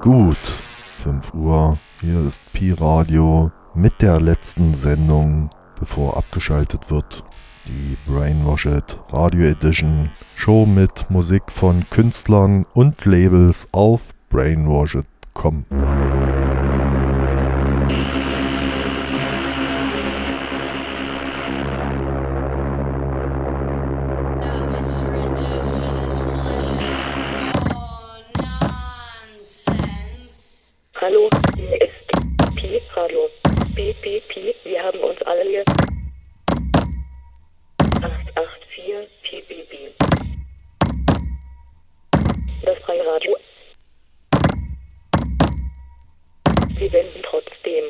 Gut, 5 Uhr, hier ist Pi-Radio mit der letzten Sendung, bevor abgeschaltet wird. Die Brainwashed Radio Edition Show mit Musik von Künstlern und Labels auf brainwashed.com. Hallo, hier ist Pi Radio. Pi, wir haben uns alle hier. 884 Pi. Das freie Radio. Wir senden trotzdem.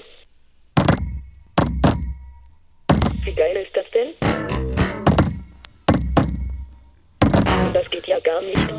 Wie geil ist das denn? Das geht ja gar nicht.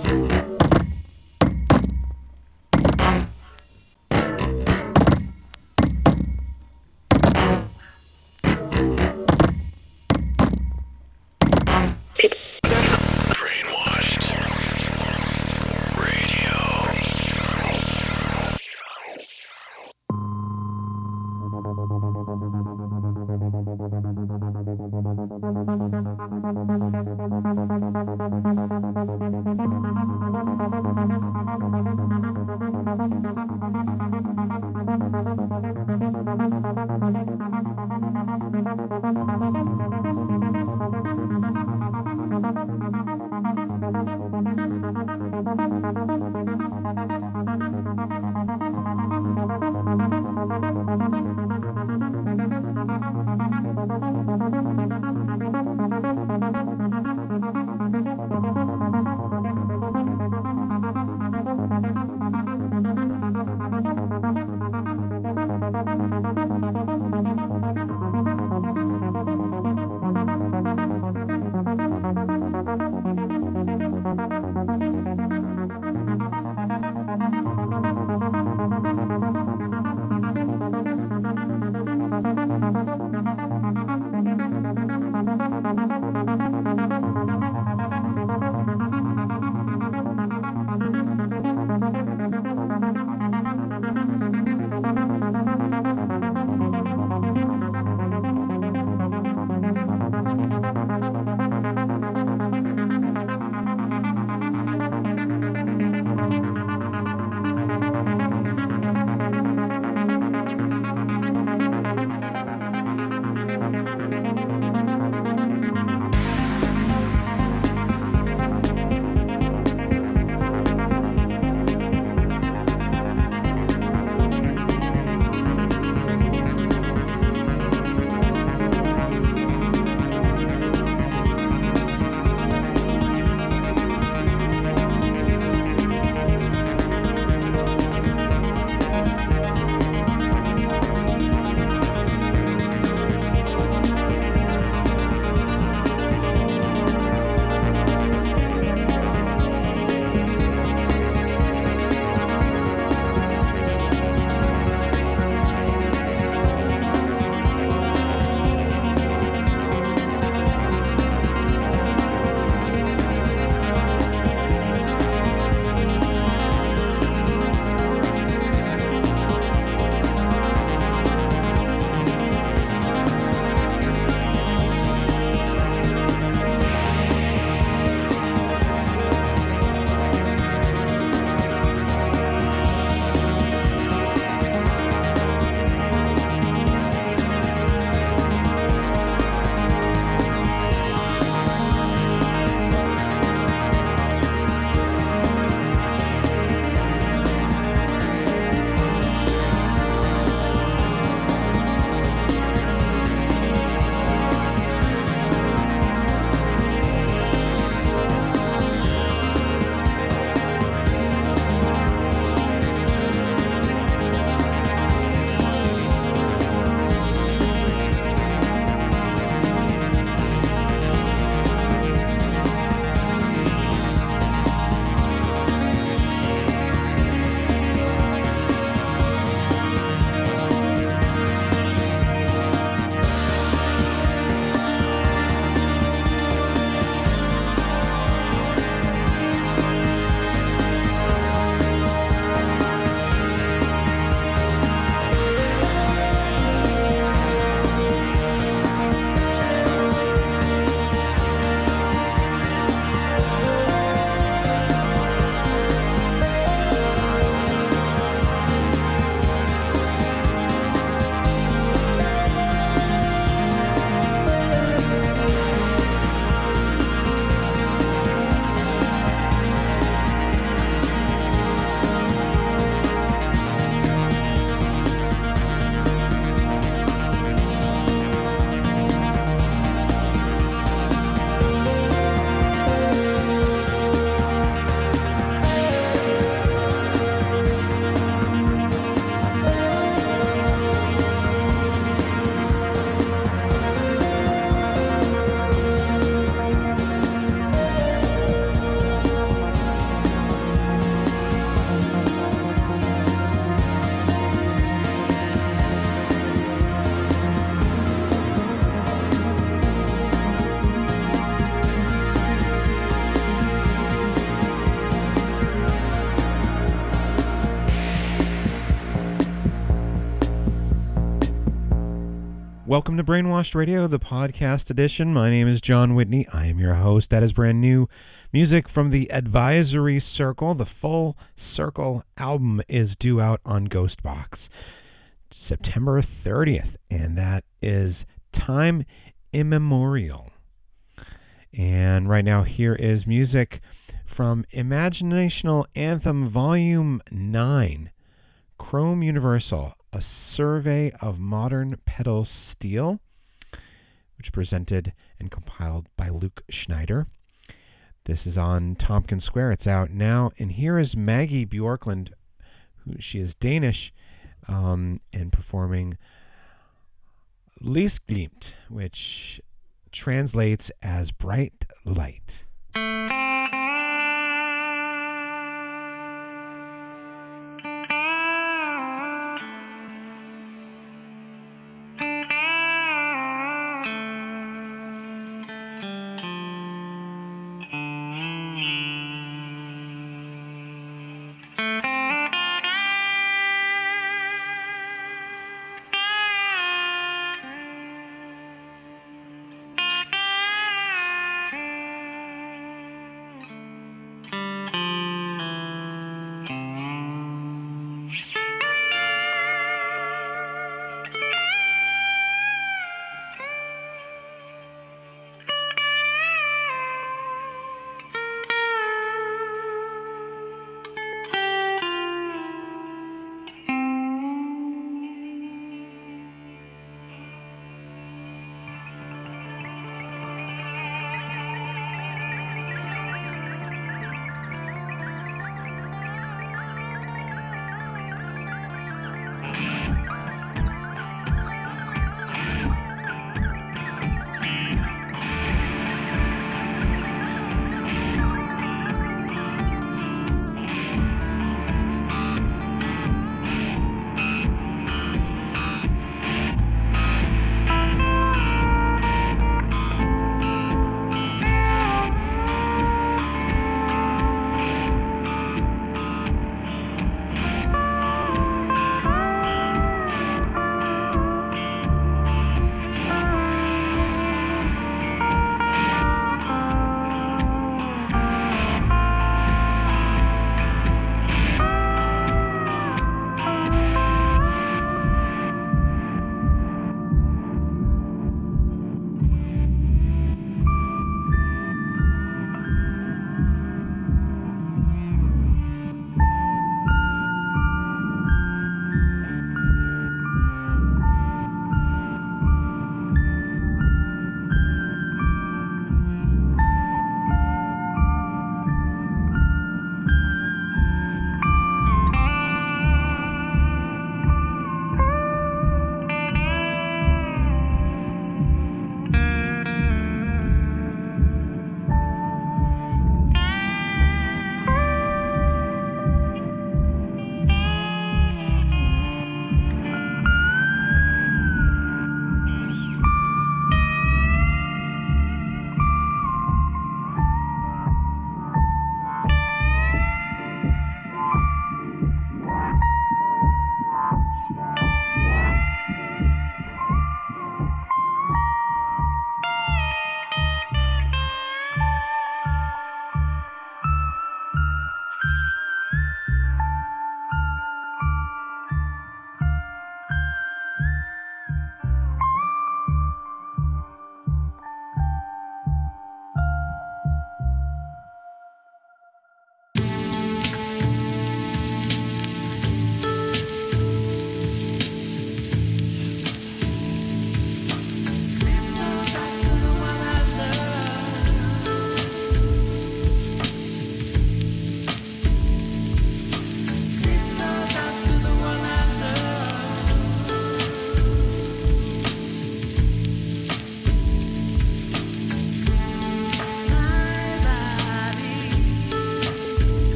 Welcome to Brainwashed Radio, the podcast edition. My name is John Whitney. I am your host. That is brand new music from the Advisory Circle. The Full Circle album is due out on Ghostbox September 30th, and that is Time Immemorial. And right now, here is music from Imaginational Anthem Volume 9, Chrome Universal, a survey of modern pedal steel, which presented and compiled by Luke Schneider. This is on Tompkins Square. It's out now. And here is Maggie Bjorklund, she is Danish, and performing Lysglimt, which translates as bright light.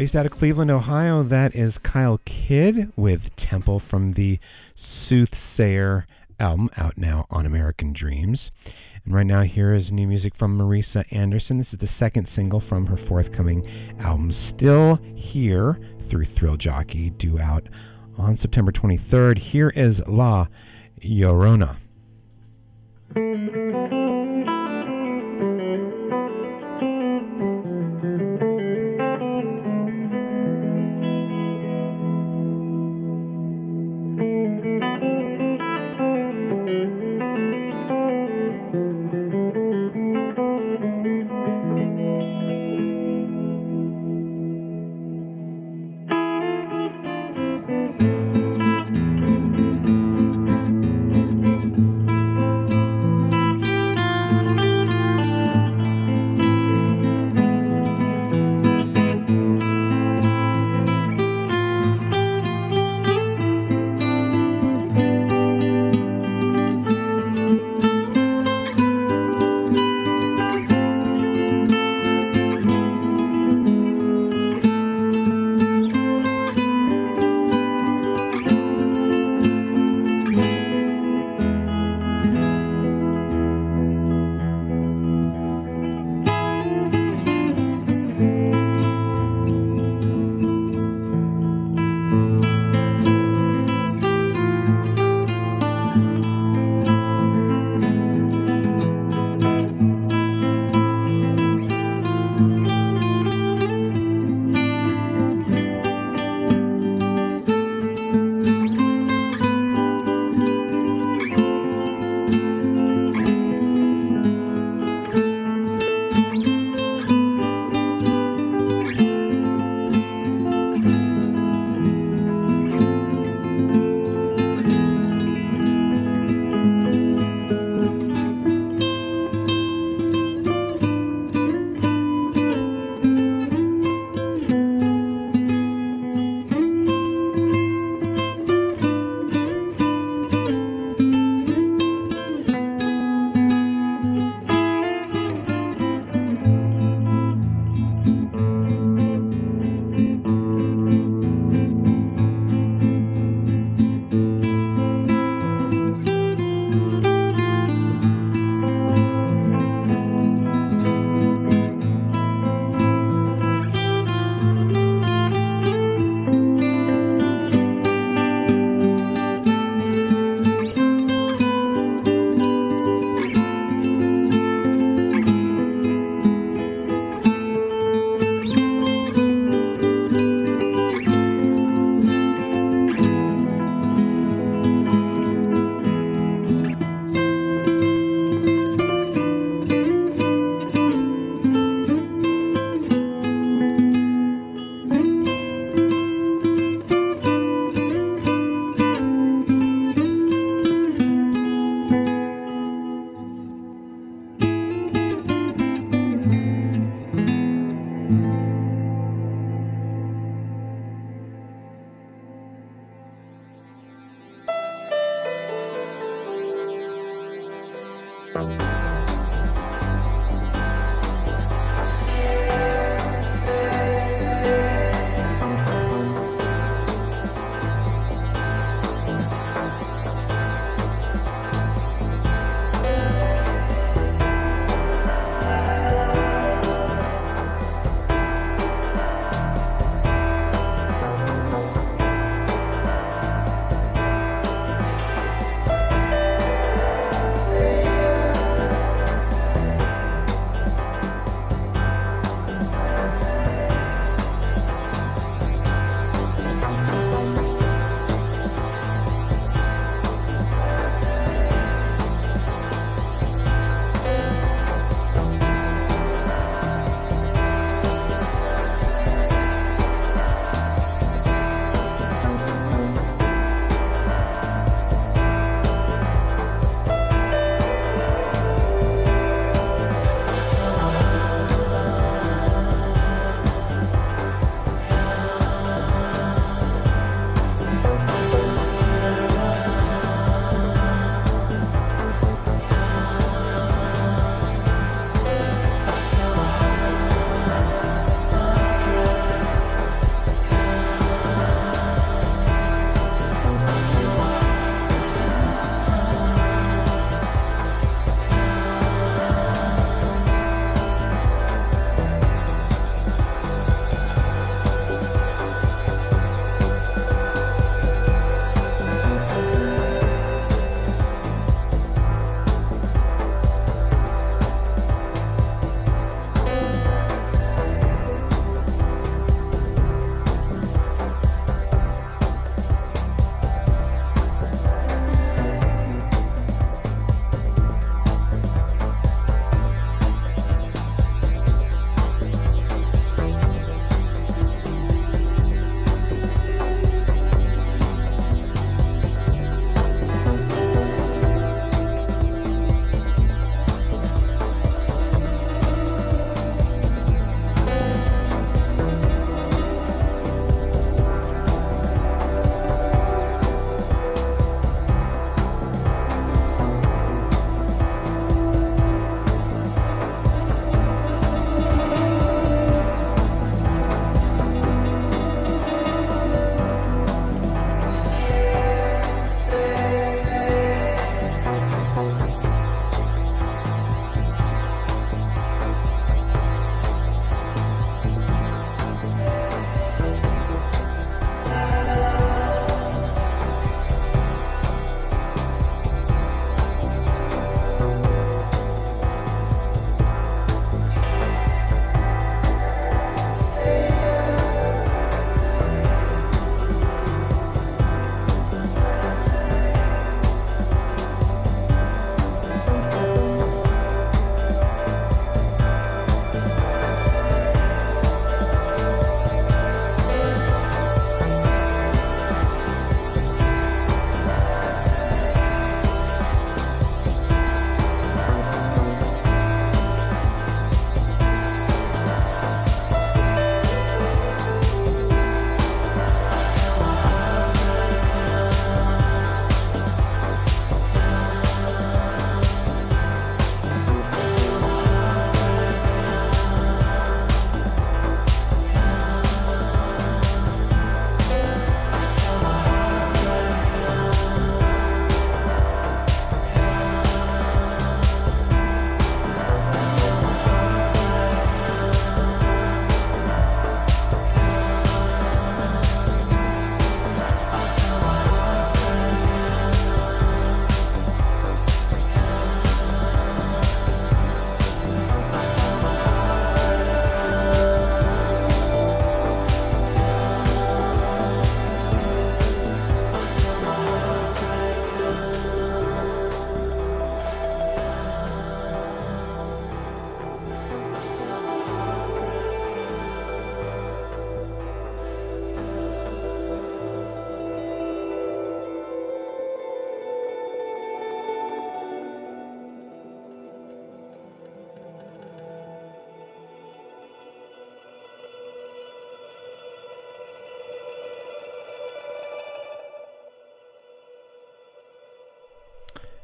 Based out of Cleveland, Ohio, that is Kyle Kidd with Temple from the Soothsayer album, out now on American Dreams. And right now, here is new music from Marisa Anderson. This is the second single from her forthcoming album, Still Here, through Thrill Jockey, due out on September 23rd. Here is La Llorona.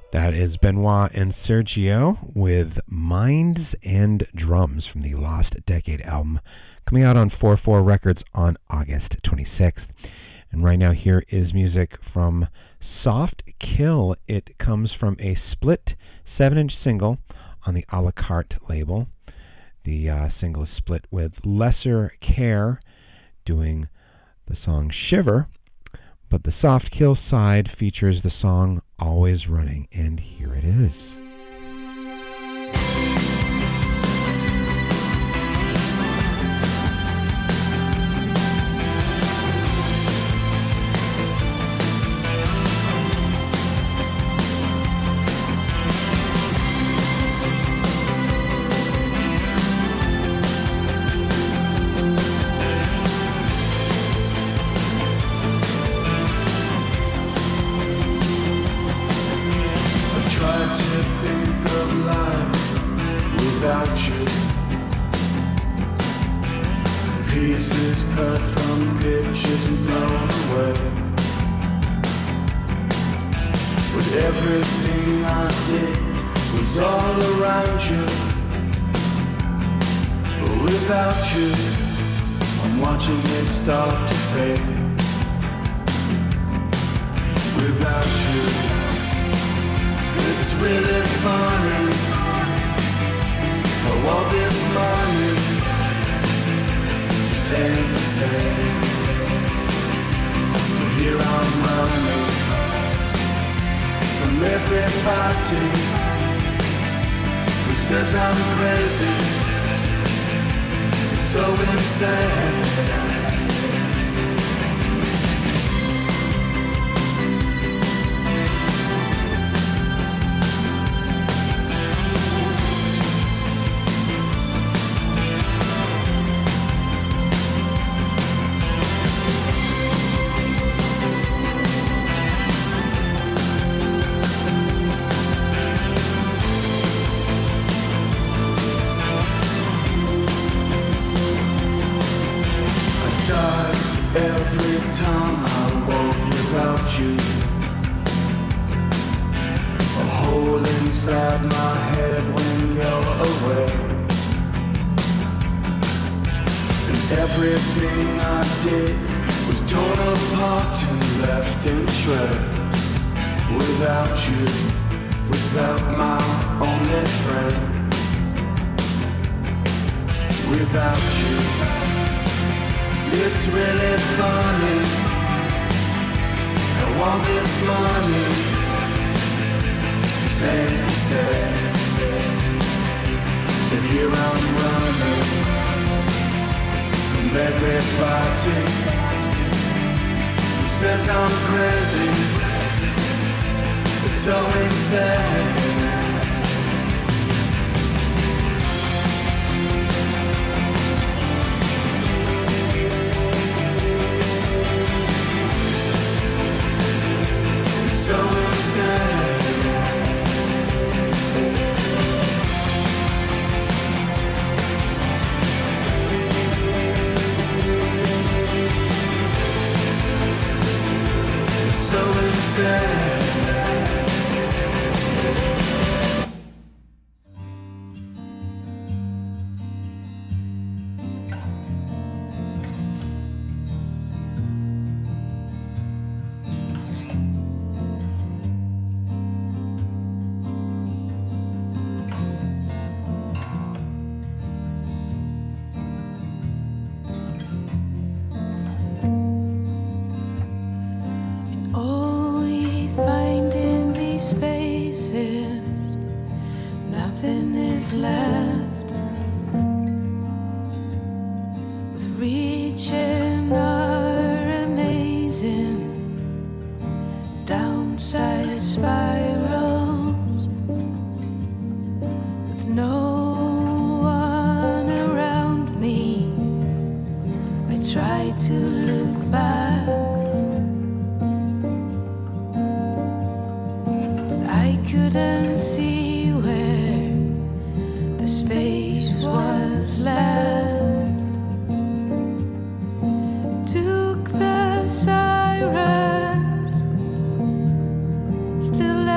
That is Benoit and Sergio with Minds and Drums from the Lost Decade album, coming out on 4/4 Records on August 26th. And right now here is music from Soft Kill. It comes from a split 7-inch single on the A La Carte label. The single is split with Lesser Care doing the song Shiver, but the Soft Kill side features the song Always Running, and here it is. Pieces cut from pictures and blown away. But everything I did was all around you. But without you, I'm watching it start to fade. Without you, it's really funny how all this money ain't the same. So here I'm running from everybody who says I'm crazy. It's so insane. Every time I walk without you, a hole inside my head when you're away. And everything I did was torn apart and left in shreds. Without you, without my only friend. Without you, it's really funny how all this money just ain't the same. So here I'm running from everybody who says I'm crazy. It's so insane. So insane. So insane. Still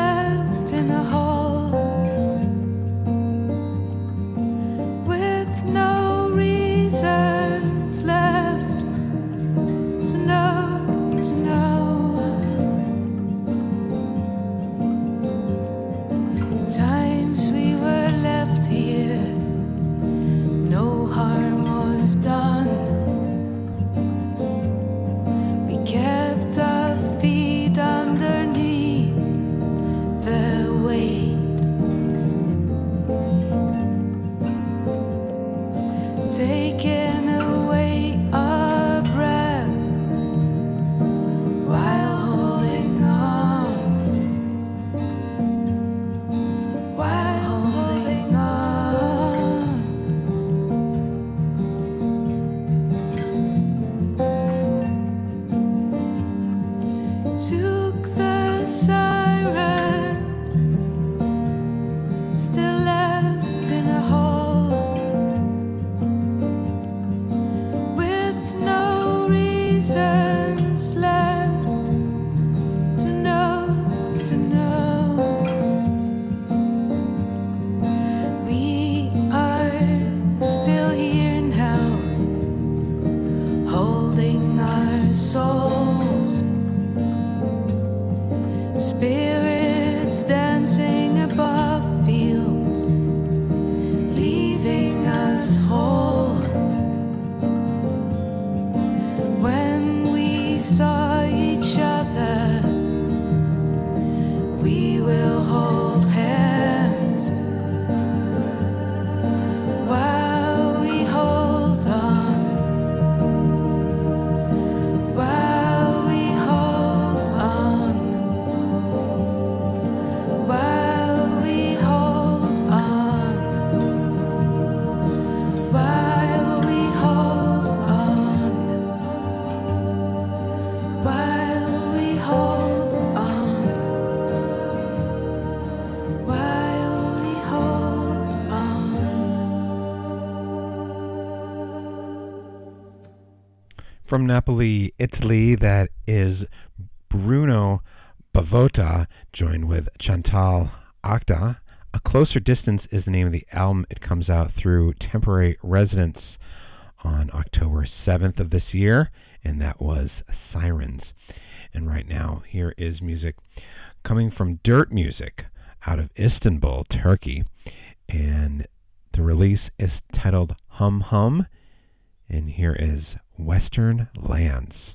From Napoli, Italy, that is Bruno Bavotta, joined with Chantal Acta. A Closer Distance is the name of the album. It comes out through Temporary Residence on October 7th of this year, and that was Sirens. And right now, here is music coming from Dirt Music out of Istanbul, Turkey. And the release is titled Hum Hum. And here is Western Lands.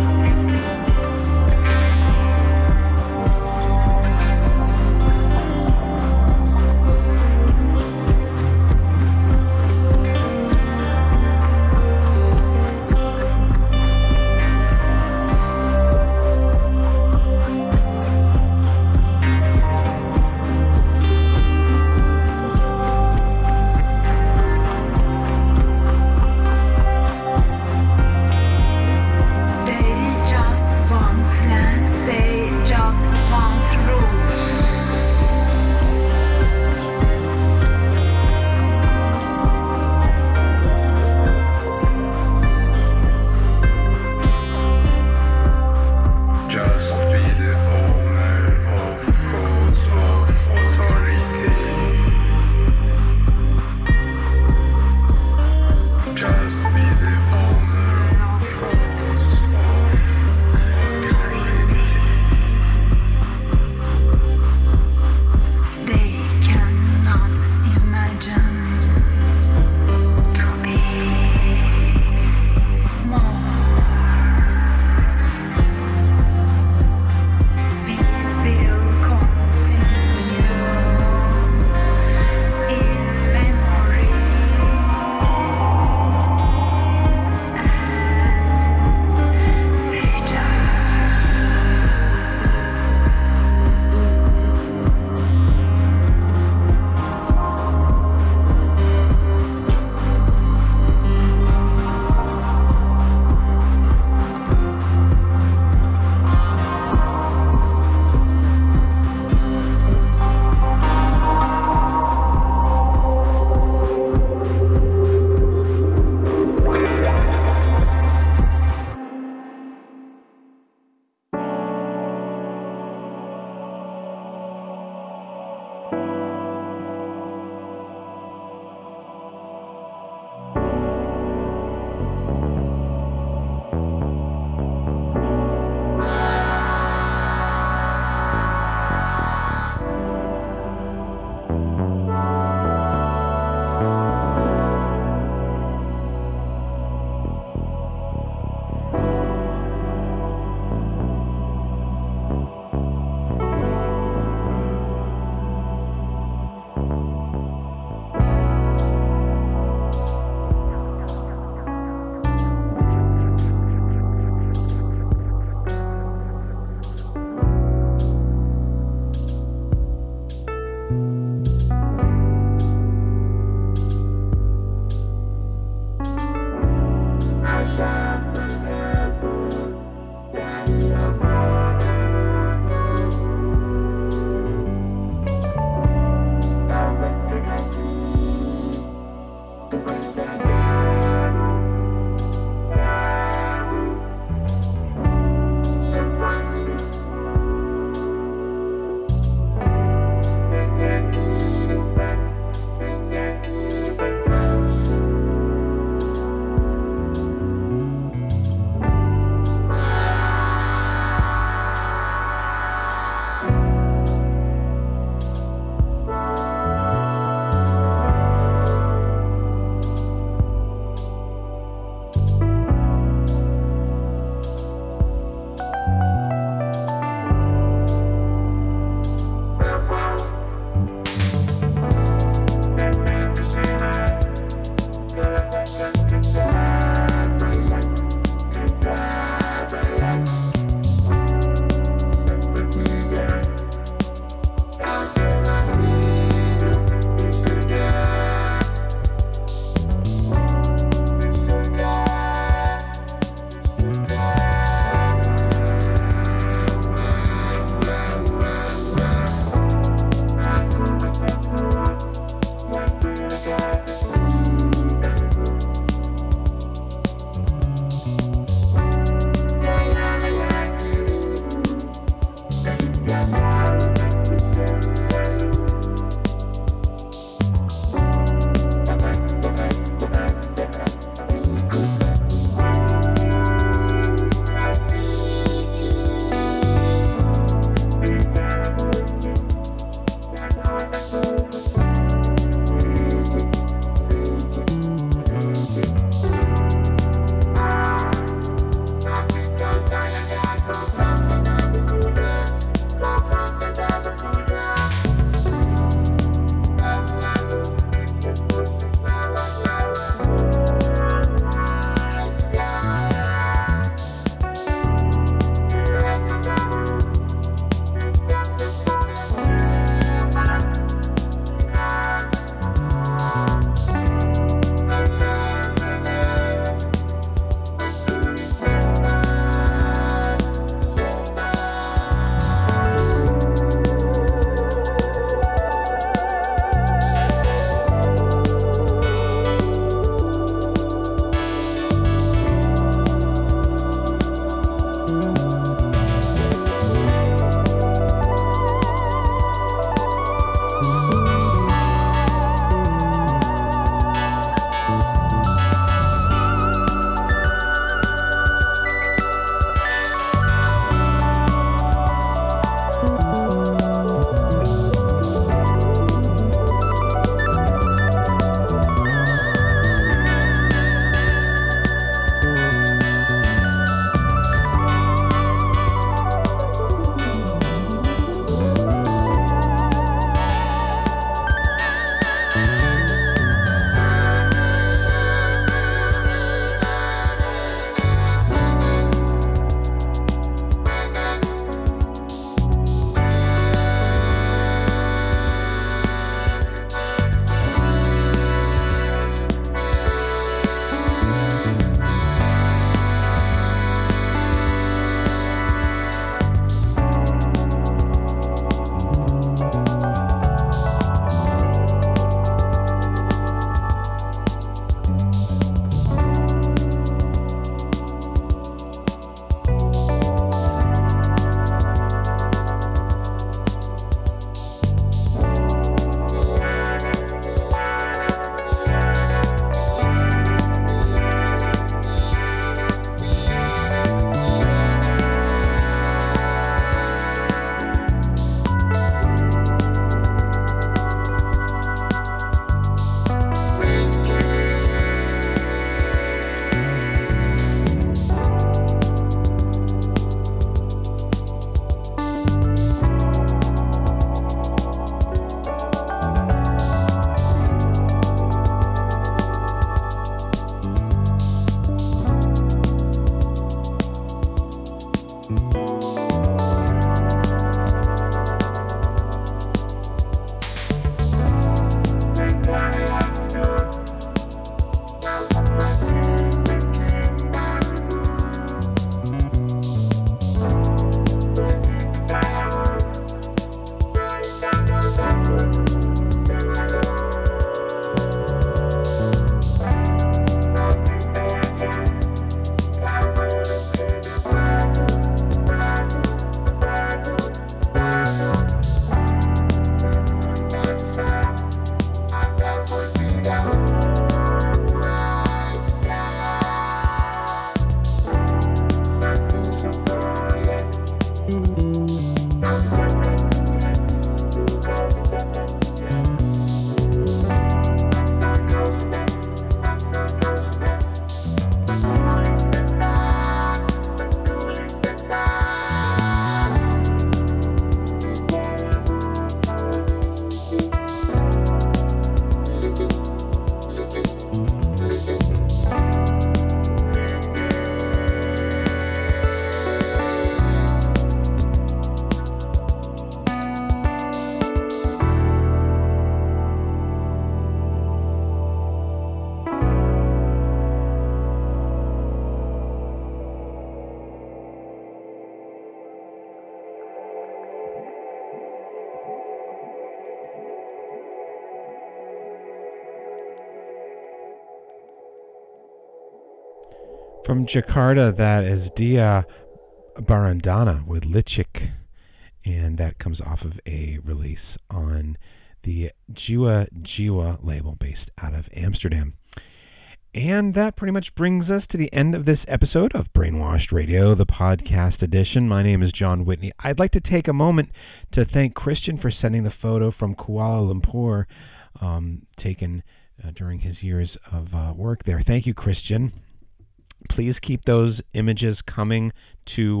From Jakarta, that is Dia Barandana with Lichik, and that comes off of a release on the Jiwa Jiwa label based out of Amsterdam. And that pretty much brings us to the end of this episode of Brainwashed Radio, the podcast edition. My name is John Whitney. I'd like to take a moment to thank Christian for sending the photo from Kuala Lumpur, taken during his years of work there. Thank you, Christian. Please keep those images coming to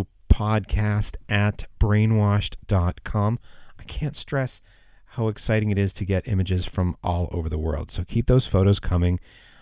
podcast@brainwashed.com. I can't stress how exciting it is to get images from all over the world. So keep those photos coming.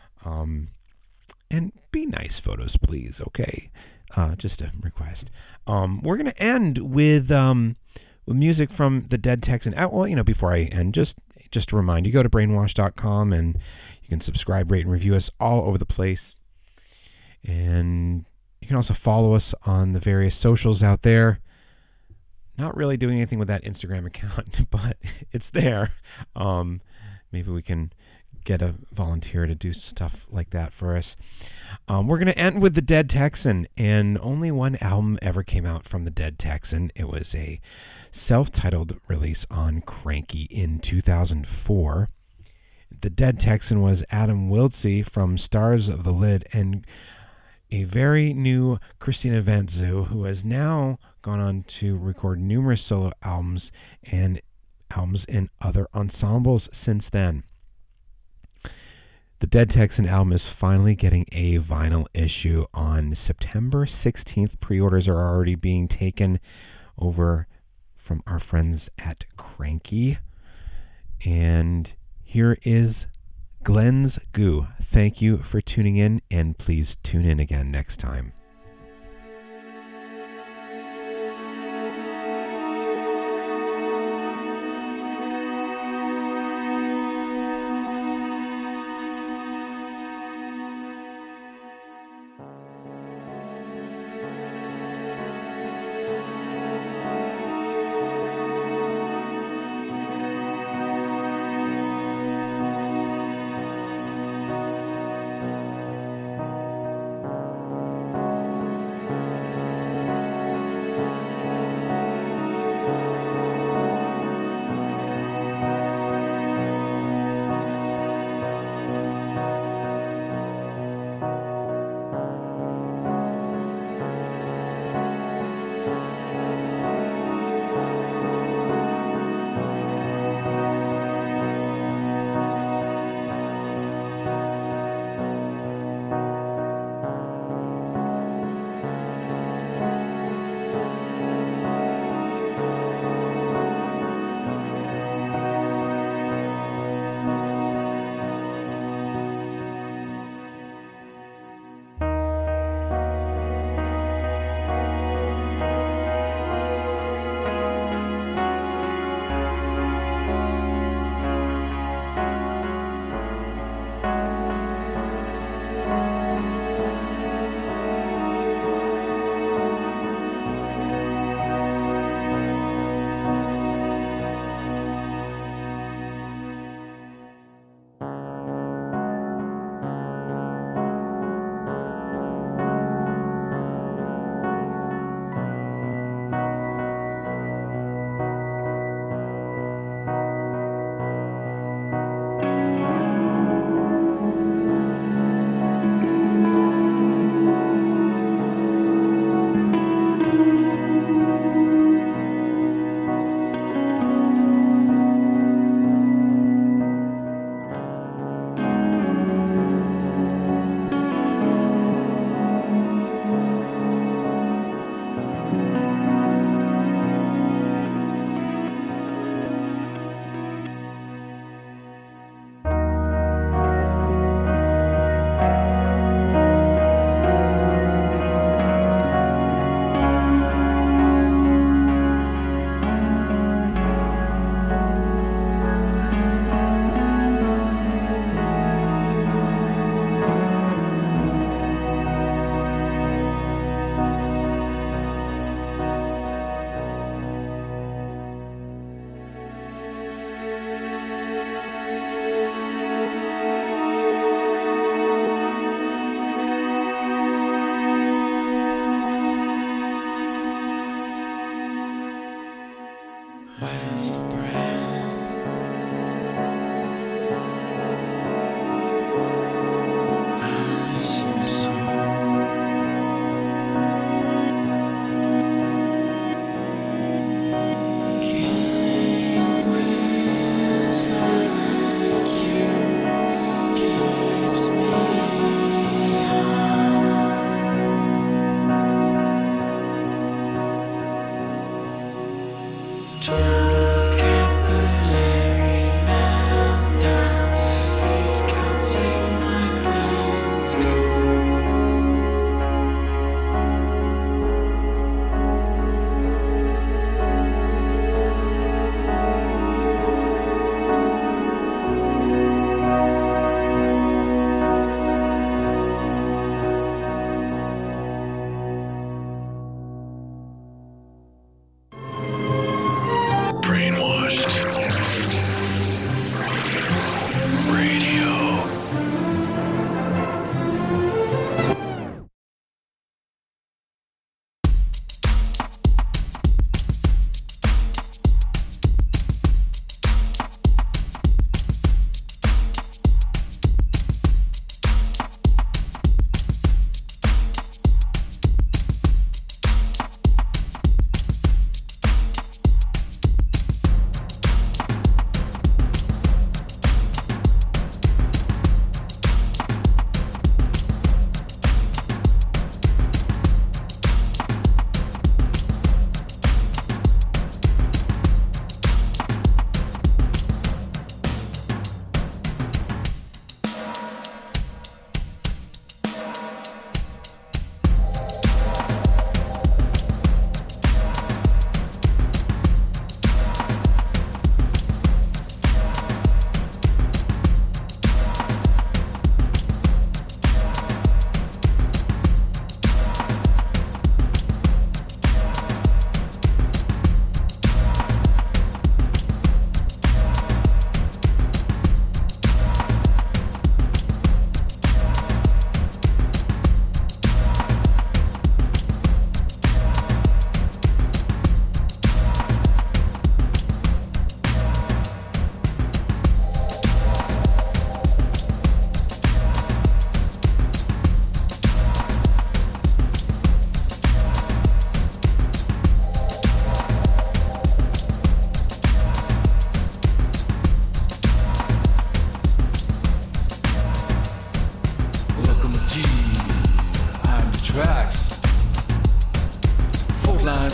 And be nice photos, please, okay? Just a request. We're going to end with music from the Dead Texan. Well, before I end, just to remind you, go to brainwash.com and you can subscribe, rate, and review us all over the place. And you can also follow us on the various socials out there. Not really doing anything with that Instagram account, but it's there. Maybe we can get a volunteer to do stuff like that for us. We're going to end with the Dead Texan, and only one album ever came out from the Dead Texan. It was a self-titled release on Cranky in 2004. The Dead Texan was Adam Wiltsey from Stars of the Lid and a very new Christina Vantzu, who has now gone on to record numerous solo albums and albums in other ensembles since then. The Dead Texan album is finally getting a vinyl issue on September 16th. Pre-orders are already being taken over from our friends at Cranky. And here is Glenn's Goo. Thank you for tuning in, and please tune in again next time.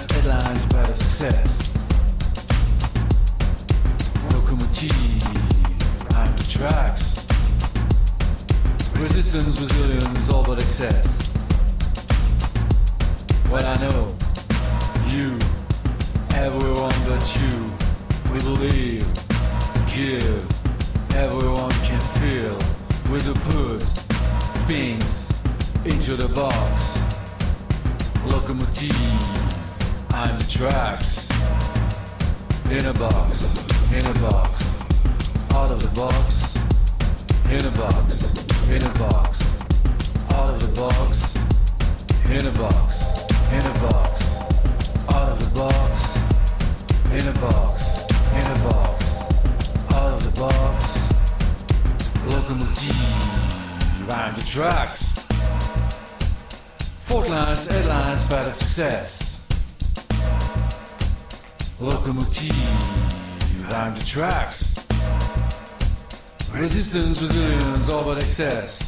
lines, headlines, pride of success. Locomotive, I'm the tracks. Resistance, resilience, all but excess. Well, I know you, everyone but you. We believe, give, everyone can feel. We do put things into the box. Locomotive, I'm the tracks. In a box, in a box, out of the box. In a box, in a box, out of the box. In a box, in a box, out of the box. In a box, in a box, out of the box. Locomotive, I'm the tracks. Fault lines, headlines, bad at success. Locomotive, I'm the tracks. Resistance, resilience, all but excess.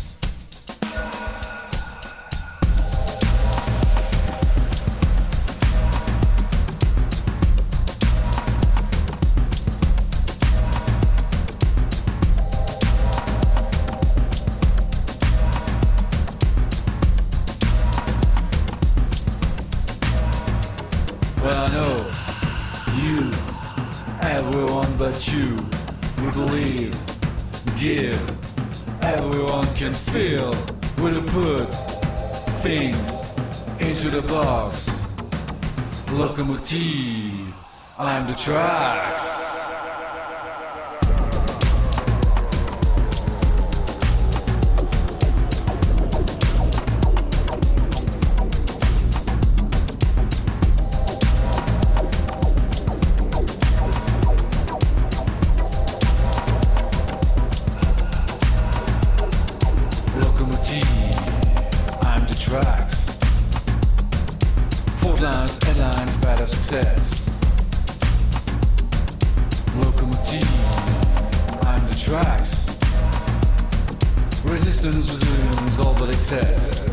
Well, I know you, everyone but you. We believe, give, everyone can feel. We'll put things into the box. Locomotive, I'm the tracks. Headlines, bad of success. Locomotive, I'm the tracks. Resistance, resilience, all but excess.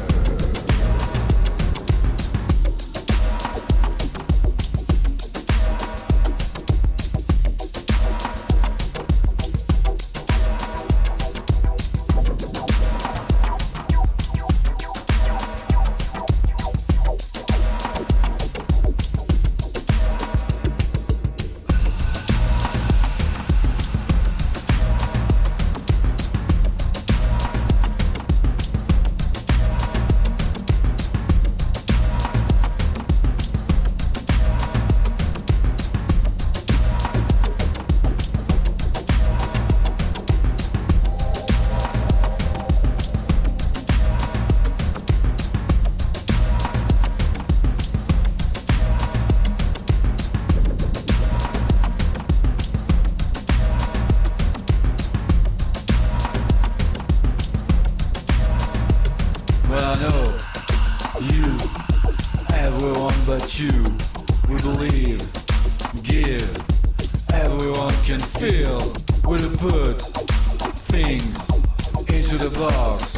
Well, I know you, everyone but you. We believe, give, everyone can feel. We'll put things into the box.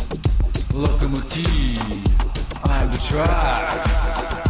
Locomotive, I'm the tracks.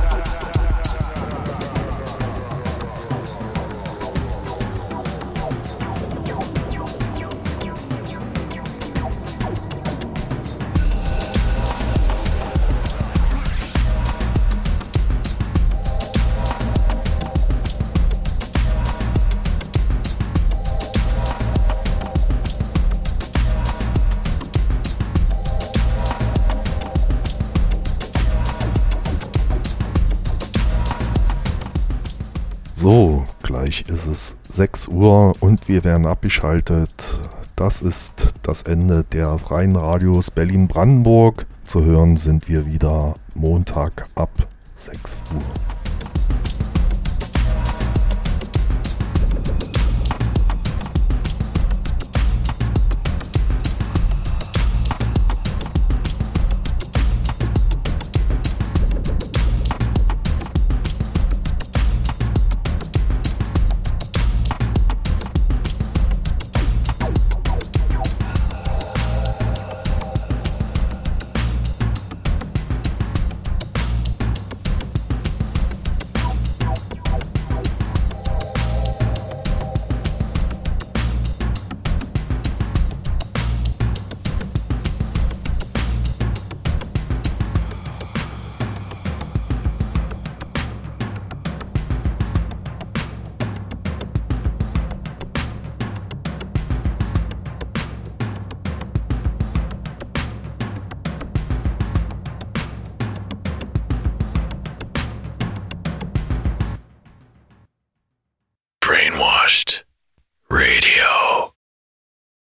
So, gleich ist es 6 Uhr und wir werden abgeschaltet. Das ist das Ende der Freien Radios Berlin-Brandenburg. Zu hören sind wir wieder Montag ab 6 Uhr.